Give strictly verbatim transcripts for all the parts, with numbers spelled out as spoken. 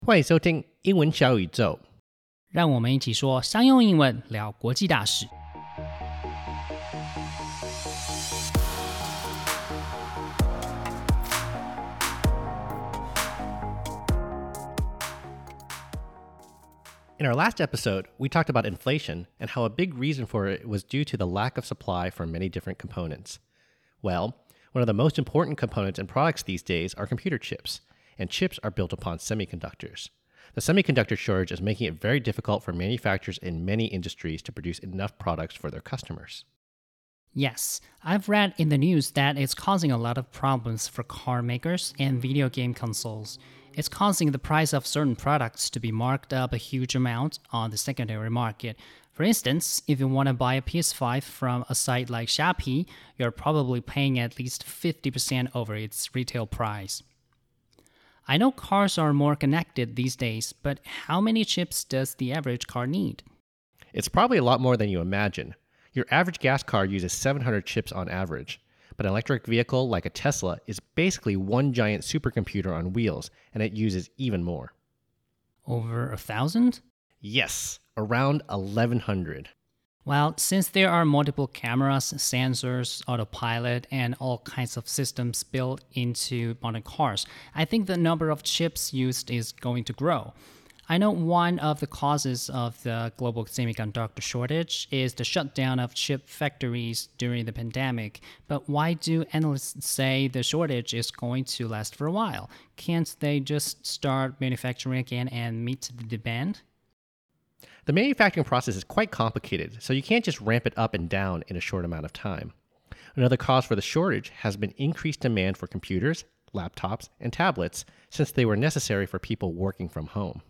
歡迎收聽英文小宇宙， 讓我們一起說商用英文，聊國際大事。 In our last episode, we talked about inflation and how a big reason for it was due to the lack of supply for many different components. Well, one of the most important components in products these days are computer chips, and chips are built upon semiconductors. The semiconductor shortage is making it very difficult for manufacturers in many industries to produce enough products for their customers. Yes, I've read in the news that it's causing a lot of problems for car makers and video game consoles. It's causing the price of certain products to be marked up a huge amount on the secondary market. For instance, if you want to buy a P S five from a site like Shopee, you're probably paying at least fifty percent over its retail price. I know cars are more connected these days, but how many chips does the average car need? It's probably a lot more than you imagine. Your average gas car uses seven hundred chips on average. But an electric vehicle like a Tesla is basically one giant supercomputer on wheels, and it uses even more. Over a thousand? Yes, around eleven hundred. Well, since there are multiple cameras, sensors, autopilot, and all kinds of systems built into modern cars, I think the number of chips used is going to grow. I know one of the causes of the global semiconductor shortage is the shutdown of chip factories during the pandemic. But why do analysts say the shortage is going to last for a while? Can't they just start manufacturing again and meet the demand? The manufacturing process is quite complicated, so you can't just ramp it up and down in a short amount of time. Another cause for the shortage has been increased demand for computers, laptops, and tablets since they were necessary for people working from home.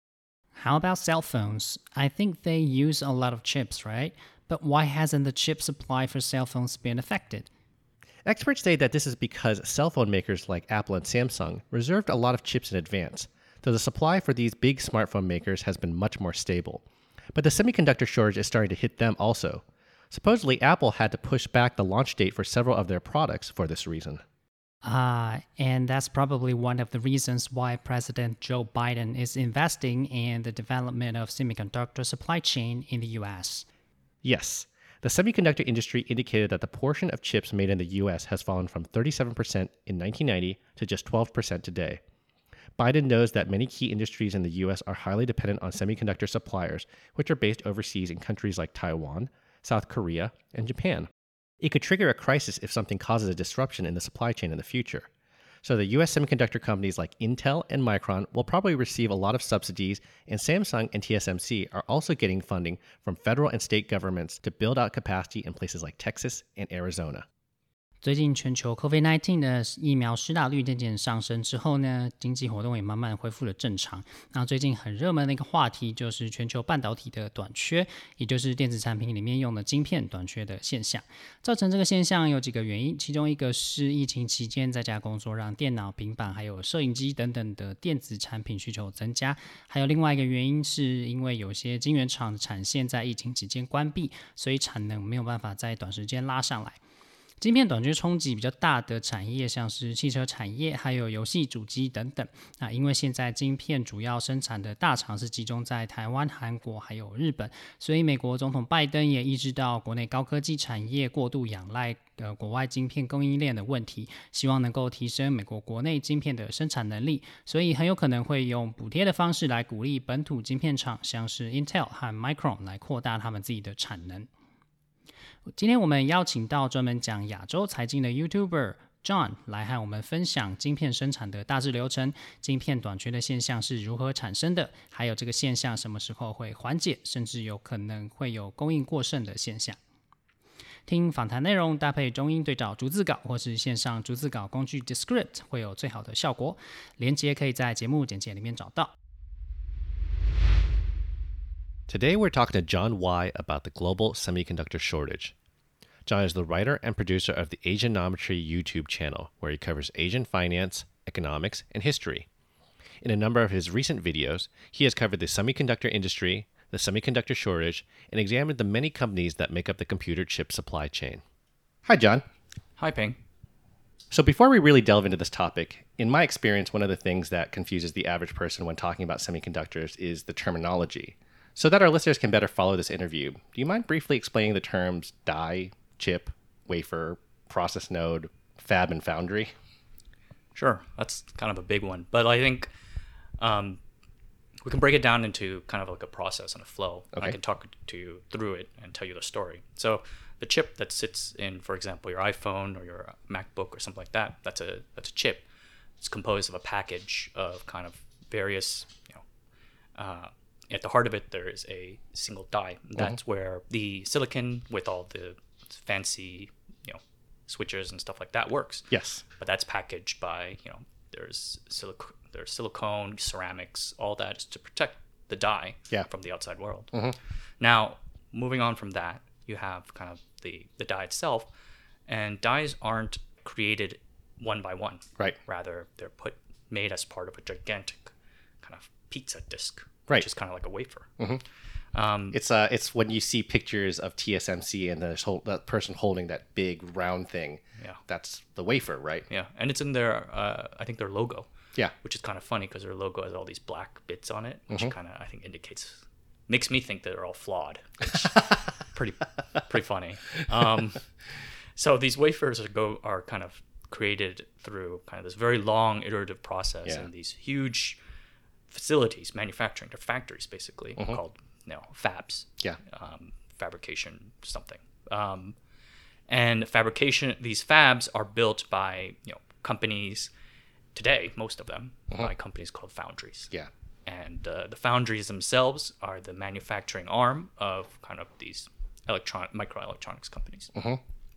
How about cell phones? I think they use a lot of chips, right? But why hasn't the chip supply for cell phones been affected? Experts say that this is because cell phone makers like Apple and Samsung reserved a lot of chips in advance, though the supply for these big smartphone makers has been much more stable. But the semiconductor shortage is starting to hit them also. Supposedly, Apple had to push back the launch date for several of their products for this reason. Ah, uh, and that's probably one of the reasons why President Joe Biden is investing in the development of semiconductor supply chain in the U S. Yes. The semiconductor industry indicated that the portion of chips made in the U S has fallen from thirty-seven percent in nineteen ninety to just twelve percent today. Biden knows that many key industries in the U S are highly dependent on semiconductor suppliers, which are based overseas in countries like Taiwan, South Korea, and Japan. It could trigger a crisis if something causes a disruption in the supply chain in the future. So the U S semiconductor companies like Intel and Micron will probably receive a lot of subsidies, and Samsung and T S M C are also getting funding from federal and state governments to build out capacity in places like Texas and Arizona. 最近全球 COVID 十九 的疫苗施打率漸漸上升之後呢，經濟活動也慢慢恢復了正常。那最近很熱門的一個話題就是全球半導體的短缺，也就是電子產品裡面用的晶片短缺的現象。造成這個現象有幾個原因，其中一個是疫情期間在家工作，讓電腦、平板還有攝影機等等的電子產品需求增加。還有另外一個原因是因為有些晶圓廠的產線在疫情期間關閉，所以產能沒有辦法在短時間拉上來。晶片短缺衝擊比較大的產業像是汽車產業還有遊戲主機等等。那因為現在晶片主要生產的大廠是集中在台灣、韓國還有日本，所以美國總統拜登也意識到國內高科技產業過度仰賴呃國外晶片供應鏈的問題，希望能夠提升美國國內晶片的生產能力，所以很有可能會用補貼的方式來鼓勵本土晶片廠像是 Intel 和 Micron 來擴大他們自己的產能。今天我們邀請到專門講亞洲財經的 YouTuber John 來和我們分享晶片生產的大致流程，晶片短缺的現象是如何產生的，還有這個現象什麼時候會緩解，甚至有可能會有供應過剩的現象。聽訪談內容搭配中英對照逐字稿或是線上逐字稿工具 Descript 會有最好的效果，連結可以在節目簡介裡面找到。 Today we're talking to John Y about the global semiconductor shortage. John is the writer and producer of the Asianometry YouTube channel, where he covers Asian finance, economics, and history. In a number of his recent videos, he has covered the semiconductor industry, the semiconductor shortage, and examined the many companies that make up the computer chip supply chain. Hi, John. Hi, Ping. So before we really delve into this topic, in my experience, one of the things that confuses the average person when talking about semiconductors is the terminology. So that our listeners can better follow this interview, do you mind briefly explaining the terms die, chip, wafer, process node, fab, and foundry? Sure, that's kind of a big one. But I think um, we can break it down into kind of like a process and a flow. Okay. I can talk to you through it and tell you the story. So the chip that sits in, for example, your iPhone or your MacBook or something like that, that's a that's a chip. It's composed of a package of kind of various, you know, uh, at the heart of it, there is a single die. That's mm-hmm. where the silicon with all the fancy, you know, switches and stuff like that works. Yes. But that's packaged by, you know, there's silic- there's silicone, ceramics, all that is to protect the die yeah. from the outside world. Mm-hmm. Now, moving on from that, you have kind of the, the die itself, and dies aren't created one by one. Right. Rather, they're put made as part of a gigantic kind of pizza disc, right. which is kind of like a wafer. Mm-hmm. Um, it's uh, it's when you see pictures of T S M C and there's whole, that person holding that big round thing. Yeah. That's the wafer, right? Yeah, and it's in their, uh, I think their logo. Yeah. Which is kind of funny because their logo has all these black bits on it, which mm-hmm. kind of I think indicates, makes me think that they're all flawed. Which pretty, pretty funny. Um, so these wafers are go are kind of created through kind of this very long iterative process yeah. in these huge facilities, manufacturing, they're factories basically mm-hmm. called, you know, fabs. Yeah. Um, fabrication something. Um, and fabrication, these fabs are built by, you know, companies today, most of them, mm-hmm. by companies called foundries. Yeah. And uh, the foundries themselves are the manufacturing arm of kind of these electronic microelectronics companies. Mm-hmm.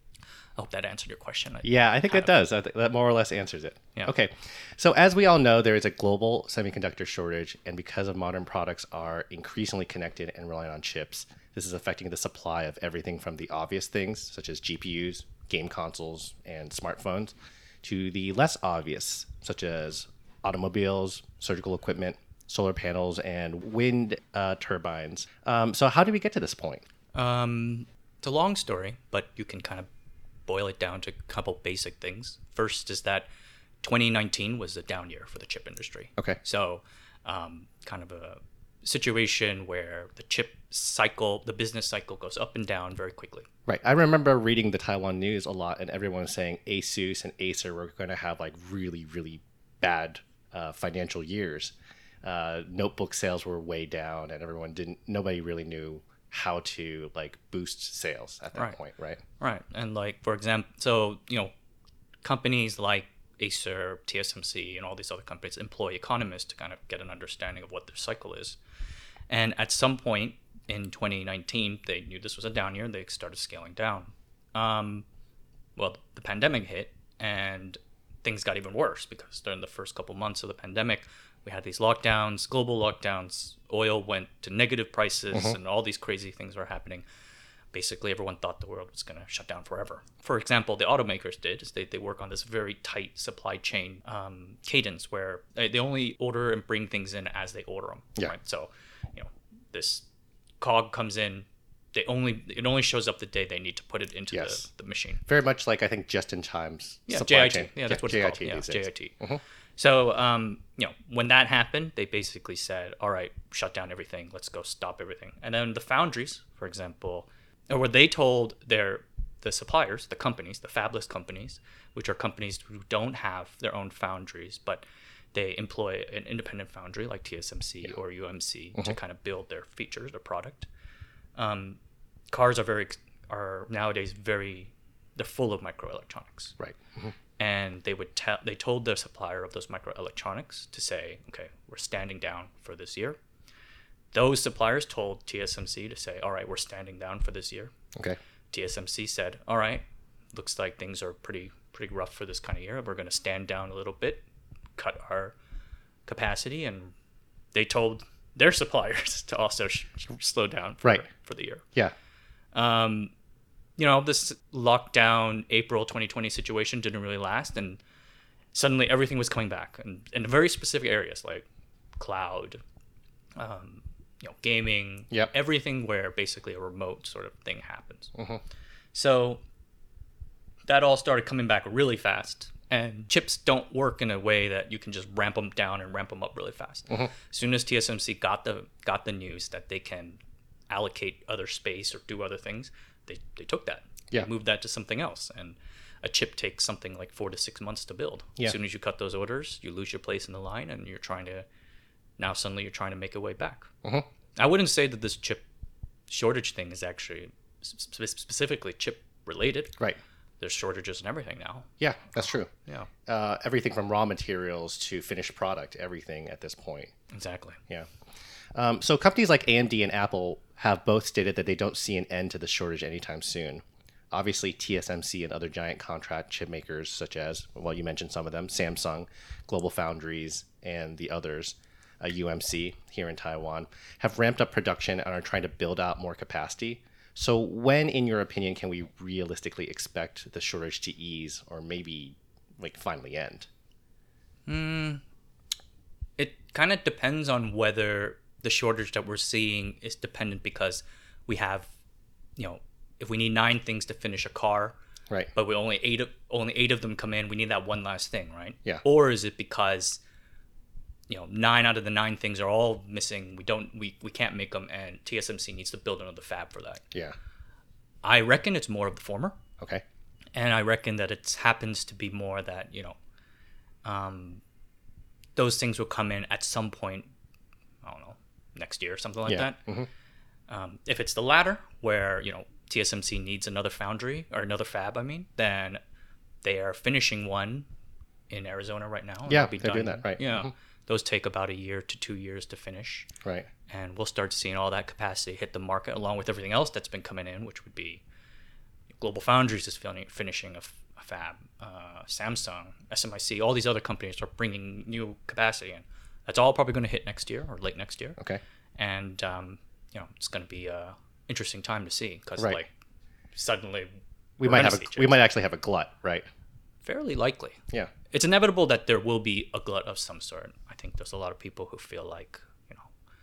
I hope that answered your question. I yeah, I think it of, does. I think that more or less answers it. Yeah. Okay. So as we all know, there is a global semiconductor shortage, and because of modern products are increasingly connected and relying on chips, this is affecting the supply of everything from the obvious things, such as G P Us, game consoles, and smartphones, to the less obvious, such as automobiles, surgical equipment, solar panels, and wind uh, turbines. Um, so how did we get to this point? Um, it's a long story, but you can kind of boil it down to a couple basic things. First is that twenty nineteen was a down year for the chip industry. Okay. So um, kind of a situation where the chip cycle, the business cycle goes up and down very quickly. Right. I remember reading the Taiwan news a lot, and everyone was saying ASUS and Acer were going to have like really, really bad uh, financial years. Uh, notebook sales were way down, and everyone didn't, nobody really knew how to like boost sales at that right. point, right? Right. And like, for example, so, you know, companies like Acer, T S M C, and all these other companies employ economists to kind of get an understanding of what their cycle is. And at some point in twenty nineteen, they knew this was a down year, and they started scaling down. Um, well, the pandemic hit, and things got even worse because during the first couple months of the pandemic, we had these lockdowns, global lockdowns, oil went to negative prices, mm-hmm. and all these crazy things were happening. Basically, everyone thought the world was going to shut down forever. For example, the automakers did is they, they work on this very tight supply chain um, cadence where they, they only order and bring things in as they order them. Yeah. Right? So, you know, this cog comes in, they only it only shows up the day they need to put it into yes. the, the machine. Very much like I think just in time's yeah, supply J I T. chain. Yeah, that's what J I T it's called. Yeah, these J I T. Mm-hmm. So, um, you know, when that happened, they basically said, all right, shut down everything. Let's go stop everything. And then the foundries, for example, or what they told their the suppliers, the companies, the fabless companies, which are companies who don't have their own foundries, but they employ an independent foundry like T S M C yeah. or U M C mm-hmm. to kind of build their features, their product. Um, cars are very are nowadays very they're full of microelectronics. Right. Mm-hmm. And they would tell they told the supplier of those microelectronics to say, okay, we're standing down for this year. Those suppliers told T S M C to say, all right, we're standing down for this year. Okay. T S M C said, all right, looks like things are pretty pretty rough for this kind of year. We're going to stand down a little bit, cut our capacity, and they told their suppliers to also sh- slow down for, right. for the year. Yeah. Um, you know, this lockdown April twenty twenty situation didn't really last, and suddenly everything was coming back, and in very specific areas like cloud, um, you know, gaming, yep. everything where basically a remote sort of thing happens. Mm-hmm. So that all started coming back really fast, And chips don't work in a way that you can just ramp them down and ramp them up really fast. Mm-hmm. As soon as T S M C got the got the news that they can allocate other space or do other things, they, they took that. Yeah. They moved that to something else. And a chip takes something like four to six months to build. Yeah. As soon as you cut those orders, you lose your place in the line, and you're trying to now suddenly you're trying to make a way back. Mm-hmm. I wouldn't say that this chip shortage thing is actually sp- specifically chip related. Right. There's shortages in everything now. Yeah, that's true. Yeah. Uh, everything from raw materials to finished product, everything at this point. Exactly. Yeah. Um, so companies like A M D and Apple have both stated that they don't see an end to the shortage anytime soon. Obviously, T S M C and other giant contract chip makers such as, well, you mentioned some of them, Samsung, Global Foundries, and the others, uh, U M C here in Taiwan, have ramped up production and are trying to build out more capacity. So when, in your opinion, can we realistically expect the shortage to ease or maybe like finally end? Mm, it kind of depends on whether the shortage that we're seeing is dependent because we have, you know, if we need nine things to finish a car, right? But we only eight of only eight of them come in, we need that one last thing, right? Yeah. Or is it because, you know, nine out of the nine things are all missing. We don't, we, we can't make them, and T S M C needs to build another fab for that. Yeah. I reckon it's more of the former. Okay. And I reckon that it happens to be more that, you know, um, those things will come in at some point, I don't know, next year or something like yeah. that. Mm-hmm. Um, if it's the latter, where, you know, T S M C needs another foundry or another fab, I mean, then they are finishing one in Arizona right now. Yeah, It'll be they're done. doing that, right. Yeah. Mm-hmm. Those take about a year to two years to finish. Right. And we'll start seeing all that capacity hit the market along with everything else that's been coming in, which would be Global Foundries is fin- finishing a, f- a fab, uh, Samsung, S M I C, all these other companies are bringing new capacity in. That's all probably going to hit next year or late next year. Okay. And, um, you know, it's going to be a interesting time to see because, right. like, suddenly we we're might gonna have a, see we chips. might actually have a glut, right? Fairly likely. Yeah. It's inevitable that there will be a glut of some sort. I think there's a lot of people who feel like, you know,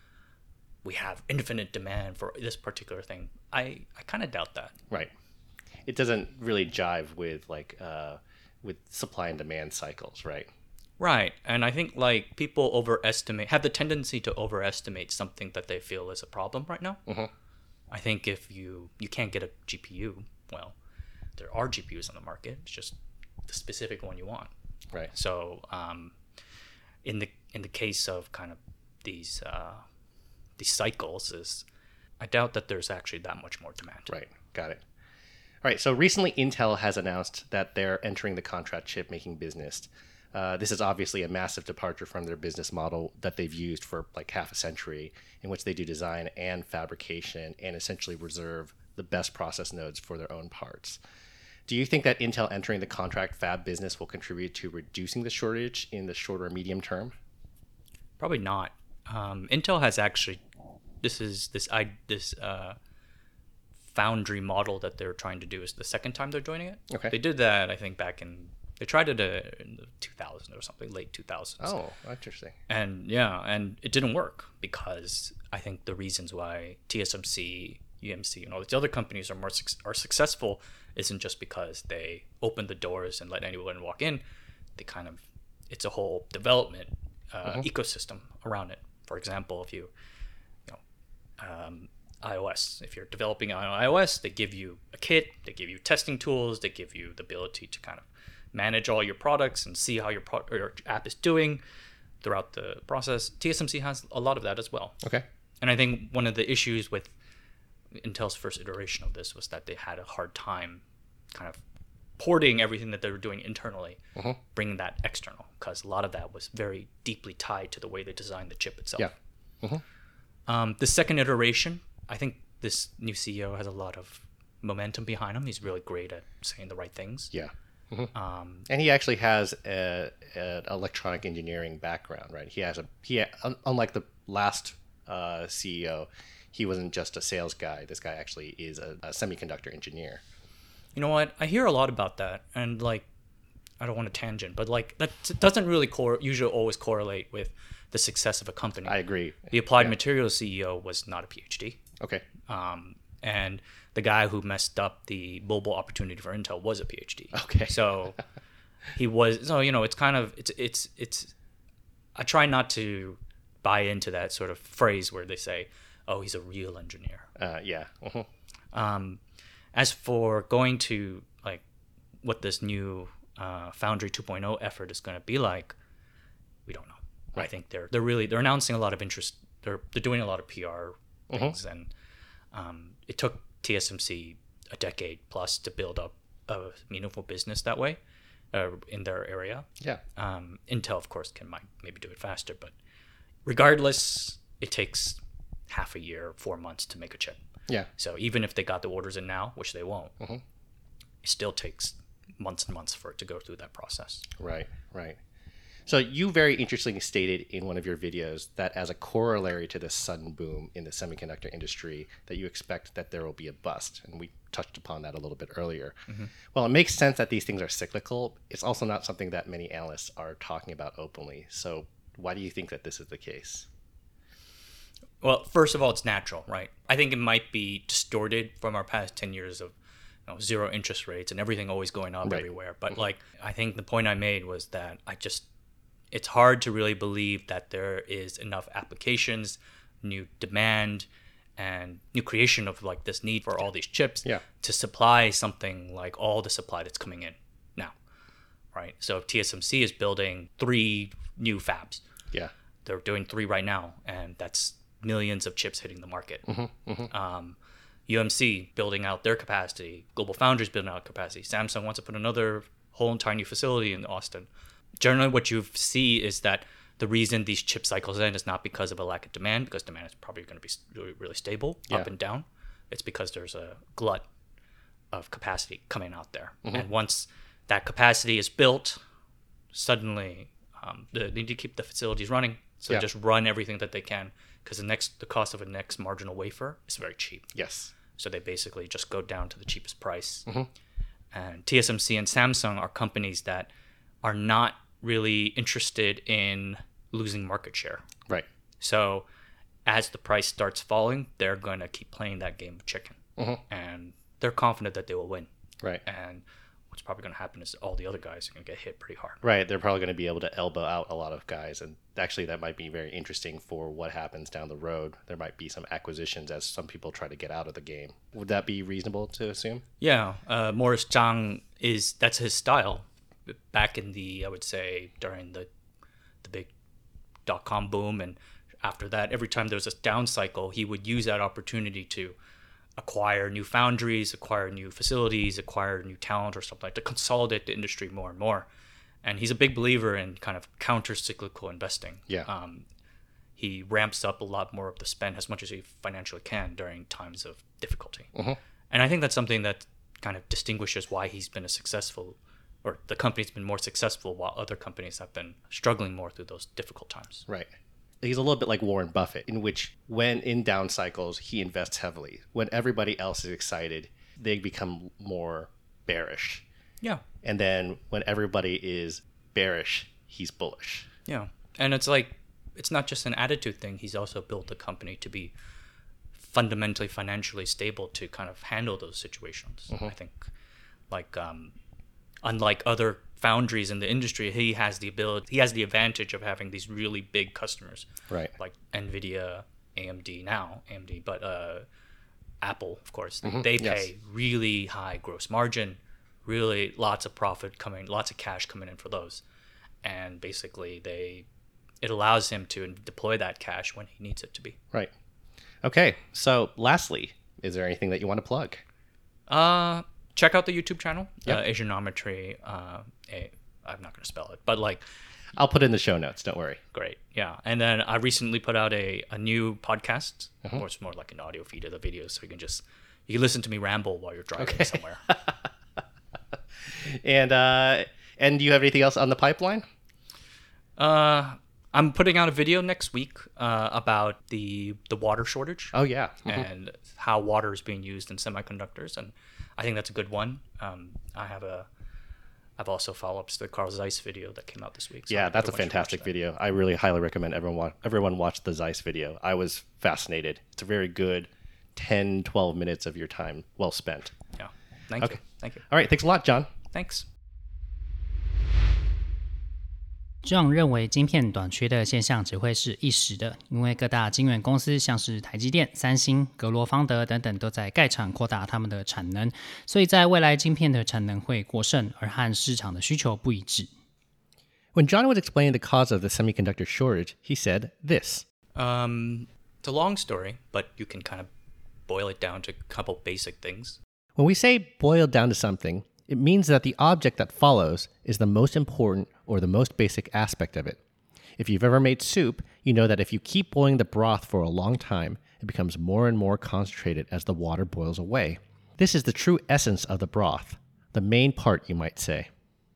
we have infinite demand for this particular thing. I, I kind of doubt that. Right. It doesn't really jive with like uh, with supply and demand cycles, right? Right. And I think like people overestimate, have the tendency to overestimate something that they feel is a problem right now. Mm-hmm. I think if you, you can't get a G P U, well, there are G P Us on the market. It's just the specific one you want. Right. So um, in the in the case of kind of these uh, these cycles, is I doubt that there's actually that much more demand. Right. Got it. All right. So recently, Intel has announced that they're entering the contract chip making business. Uh, this is obviously a massive departure from their business model that they've used for like half a century, in which they do design and fabrication and essentially reserve the best process nodes for their own parts. Do you think that Intel entering the contract fab business will contribute to reducing the shortage in the short or medium term? Probably not. Um, Intel has actually, this is this I this uh, foundry model that they're trying to do is the second time they're joining it. Okay. They did that, I think, back in, they tried it uh, in the two thousands or something, late two thousands. Oh, interesting. And yeah, and it didn't work because I think the reasons why T S M C, U M C, and all these other companies are more suc- are successful isn't just because they open the doors and let anyone walk in. They kind of, it's a whole development uh, Mm-hmm. ecosystem around it. For example, if you, you know, um, iOS, if you're developing on iOS, they give you a kit, they give you testing tools, they give you the ability to kind of manage all your products and see how your, pro- or your app is doing throughout the process. T S M C has a lot of that as well. Okay. And I think one of the issues with Intel's first iteration of this was that they had a hard time kind of porting everything that they were doing internally, mm-hmm. bringing that external, because a lot of that was very deeply tied to the way they designed the chip itself. Yeah. Mm-hmm. Um, the second iteration, I think this new C E O has a lot of momentum behind him. He's really great at saying the right things. Yeah. Mm-hmm. Um, and he actually has a, an electronic engineering background, right? He has a he un, unlike the last uh, C E O, he wasn't just a sales guy. This guy actually is a, a semiconductor engineer. You know what? I hear a lot about that, and like, I don't want to tangent, but like that doesn't really cor- usually always correlate with the success of a company. I agree. The Applied yeah. Materials C E O was not a PhD. Okay. Um, and the guy who messed up the mobile opportunity for Intel was a PhD. Okay. So he was so you know it's kind of it's it's it's. I try not to buy into that sort of phrase where they say, "Oh, he's a real engineer." Uh, yeah. Uh-huh. Um, as for going to like what this new uh, Foundry two point oh effort is going to be like, we don't know. Right. I think they're they're really they're announcing a lot of interest. They're they're doing a lot of P R things, uh-huh. and um, it took T S M C a decade plus to build up a meaningful business that way uh, in their area. Yeah. Um, Intel, of course, can might maybe do it faster, but regardless, it takes half a year, four months to make a chip. Yeah. So even if they got the orders in now, which they won't, uh-huh. it still takes months and months for it to go through that process. Right. Right. So you very interestingly stated in one of your videos that as a corollary to this sudden boom in the semiconductor industry, that you expect that there will be a bust. And we touched upon that a little bit earlier. Mm-hmm. Well, it makes sense that these things are cyclical. It's also not something that many analysts are talking about openly. So why do you think that this is the case? Well, first of all, it's natural, right? I think it might be distorted from our past ten years of you know, zero interest rates and everything always going up right. everywhere. But mm-hmm. like, I think the point I made was that I just, it's hard to really believe that there is enough applications, new demand, and new creation of like this need for all these chips yeah. to supply something like all the supply that's coming in now, right? So T S M C is building three new fabs. Yeah, they're doing three right now, and that's millions of chips hitting the market. Mm-hmm, mm-hmm. Um, U M C building out their capacity. Global Foundries building out capacity. Samsung wants to put another whole entire new facility in Austin. Generally, what you see is that the reason these chip cycles end is not because of a lack of demand, because demand is probably going to be really, really stable yeah. up and down. It's because there's a glut of capacity coming out there. Mm-hmm. And once that capacity is built, suddenly um, they need to keep the facilities running. So yeah. just run everything that they can, because the next the cost of a next marginal wafer is very cheap. Yes. So they basically just go down to the cheapest price. Mm-hmm. And T S M C and Samsung are companies that are not really interested in losing market share. Right. So as the price starts falling, they're going to keep playing that game of chicken. Mm-hmm. And they're confident that they will win. Right. And what's probably going to happen is all the other guys are going to get hit pretty hard. Right. They're probably going to be able to elbow out a lot of guys. And actually, that might be very interesting for what happens down the road. There might be some acquisitions as some people try to get out of the game. Would that be reasonable to assume? Yeah. Uh, Morris Chang is, that's his style. Back in the, I would say, during the the big dot-com boom, and after that, every time there was a down cycle, he would use that opportunity to acquire new foundries, acquire new facilities, acquire new talent or something like to consolidate the industry more and more. And he's a big believer in kind of counter-cyclical investing. Yeah. Um, he ramps up a lot more of the spend as much as he financially can during times of difficulty. Mm-hmm. And I think that's something that kind of distinguishes why he's been a successful, or the company's been more successful while other companies have been struggling more through those difficult times. Right. He's a little bit like Warren Buffett, in which when in down cycles, he invests heavily. When everybody else is excited, they become more bearish. Yeah. And then when everybody is bearish, he's bullish. Yeah. And it's like, it's not just an attitude thing. He's also built the company to be fundamentally financially stable to kind of handle those situations. Mm-hmm. I think like, um, unlike other foundries in the industry, he has the ability, he has the advantage of having these really big customers, right? Like NVIDIA, A M D now, A M D, but uh, Apple, of course, mm-hmm. they pay yes. really high gross margin, really lots of profit coming, lots of cash coming in for those, and basically they, it allows him to deploy that cash when he needs it to be. Right. Okay. So, lastly, is there anything that you want to plug? Uh. Check out the YouTube channel, yep. uh, Asianometry. Uh, a, I'm not going to spell it, but like... I'll put it in the show notes, don't worry. Great, yeah. And then I recently put out a, a new podcast, uh-huh. or it's more like an audio feed of the videos, so you can just... You can listen to me ramble while you're driving okay. somewhere. and uh, and do you have anything else on the pipeline? Uh, I'm putting out a video next week uh, about the the water shortage. Oh, yeah. Mm-hmm. And how water is being used in semiconductors, and I think that's a good one. Um, I have a, I've also follow-ups to the Carl Zeiss video that came out this week. So yeah, that's a fantastic video. I really highly recommend everyone watch, everyone watch the Zeiss video. I was fascinated. It's a very good ten, twelve minutes of your time well spent. Yeah, thank okay. you. Thank you. All right, thanks a lot, John. Thanks. John 認為晶片短缺的現象只會是一時的，因為各大晶圓公司像是台積電、三星、格羅方德等等都在蓋廠擴大他們的產能，所以在未來晶片的產能會過剩，而和市場的需求不一致。 When John was explaining the cause of the semiconductor shortage, he said this. Um, it's a long story, but you can kind of boil it down to a couple basic things. When we say boil down to something, it means that the object that follows is the most important or the most basic aspect of it. If you've ever made soup, you know that if you keep boiling the broth for a long time, it becomes more and more concentrated as the water boils away. This is the true essence of the broth, the main part, you might say.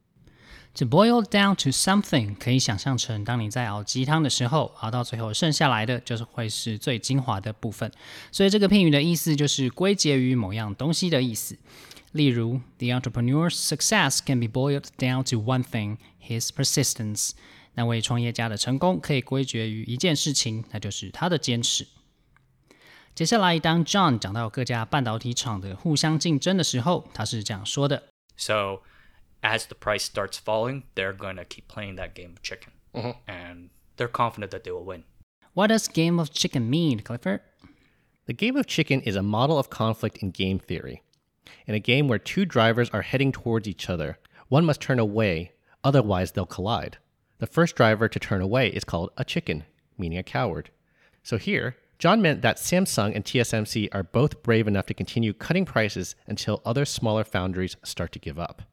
To boil down to something 可以想象成當你在熬雞湯的時候，熬到最後剩下來的就是會是最精華的部分，所以這個片語的意思就是歸結於某樣東西的意思。例如 The entrepreneur's success can be boiled down to one thing, his persistence. 那位創業家的成功可以歸結於一件事情，那就是他的堅持。接下來當 John 講到各家半導體廠的互相競爭的時候，他是這樣說的 So as the price starts falling, they're going to keep playing that game of chicken. Uh-huh. And they're confident that they will win. What does game of chicken mean, Clifford? The game of chicken is a model of conflict in game theory. In a game where two drivers are heading towards each other, one must turn away, otherwise they'll collide. The first driver to turn away is called a chicken, meaning a coward. So here, John meant that Samsung and T S M C are both brave enough to continue cutting prices until other smaller foundries start to give up.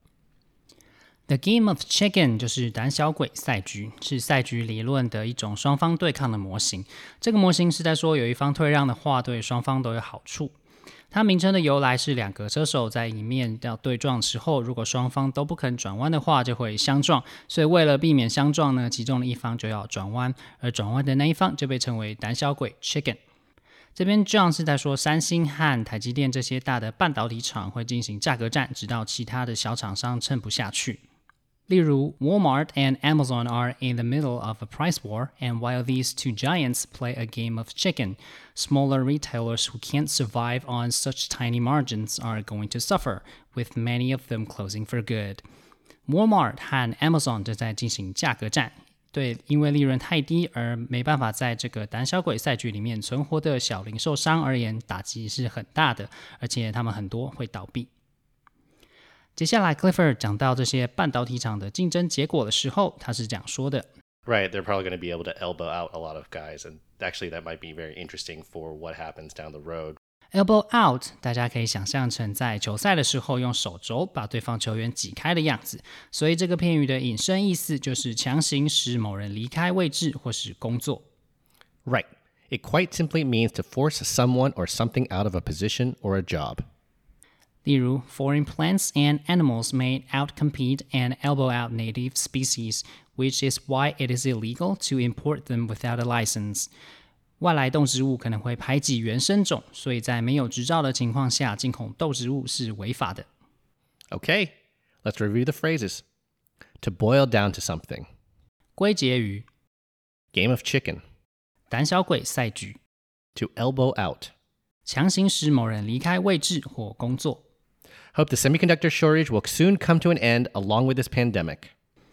The game of chicken 就是膽小鬼賽局，是賽局理論的一種雙方對抗的模型。這個模型是在說有一方退讓的話，對雙方都有好處。它名稱的由來是兩個車手在迎面要對撞的時候，如果雙方都不肯轉彎的話，就會相撞。所以為了避免相撞呢，其中的一方就要轉彎，而轉彎的那一方就被稱為膽小鬼 chicken。這邊 John 是在說三星和台積電這些大的半導體廠會進行價格戰，直到其他的小廠商撐不下去。例如 Walmart and Amazon are in the middle of a price war, and while these two giants play a game of chicken, smaller retailers who can't survive on such tiny margins are going to suffer, with many of them closing for good. Walmart 和 Amazon 正在進行價格戰，對因為利潤太低而沒辦法在這個膽小鬼賽局裡面存活的小零售商而言，打擊是很大的，而且他們很多會倒閉。接下來 Clifford 講到這些半導體廠的競爭結果的時候，他是這樣說的 Right, they're probably going to be able to elbow out a lot of guys, and actually that might be very interesting for what happens down the road. Elbow out 大家可以想象成在球賽的時候用手肘把對方球員擠開的樣子，所以這個片語的引申意思就是強行使某人離開位置或是工作。 Right, it quite simply means to force someone or something out of a position or a job. 例如 foreign plants and animals may outcompete and elbow out native species, which is why it is illegal to import them without a license. 外來动植物可能會排擠原生種，所以在沒有執照的情況下，進口動植物是違法的。 Okay, let's review the phrases. To boil down to something. 歸結於 Game of chicken. 膽小鬼賽局 To elbow out. 強行使某人離開位置或工作。 Hope the semiconductor shortage will soon come to an end along with this pandemic.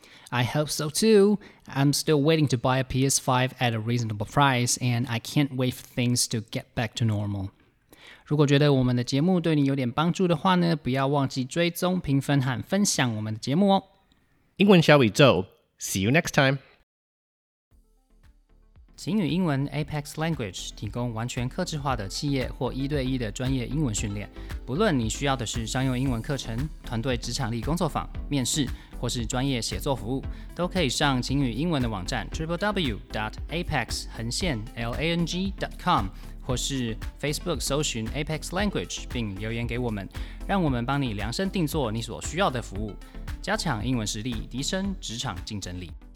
I hope so too. I'm still waiting to buy a P S five at a reasonable price, and I can't wait for things to get back to normal. 如果覺得我們的節目對你有點幫助的話呢，不要忘記追蹤、評分和分享我們的節目哦。 英文小宇宙 See you next time. 晴雨英文 Apex Language 提供完全客制化的企業或一对一的专業英文訓練。不論你需要的是商用英文課程、團隊職場力工作坊、面試，或是專業寫作服務，都可以上晴雨英文的網站 double-u double-u double-u dot apex 橫線 lang dot com， 或是 Facebook 搜尋 Apex Language 並留言給我們，讓我們幫你量身定做你所需要的服務，加強英文實力，提升職場競爭力。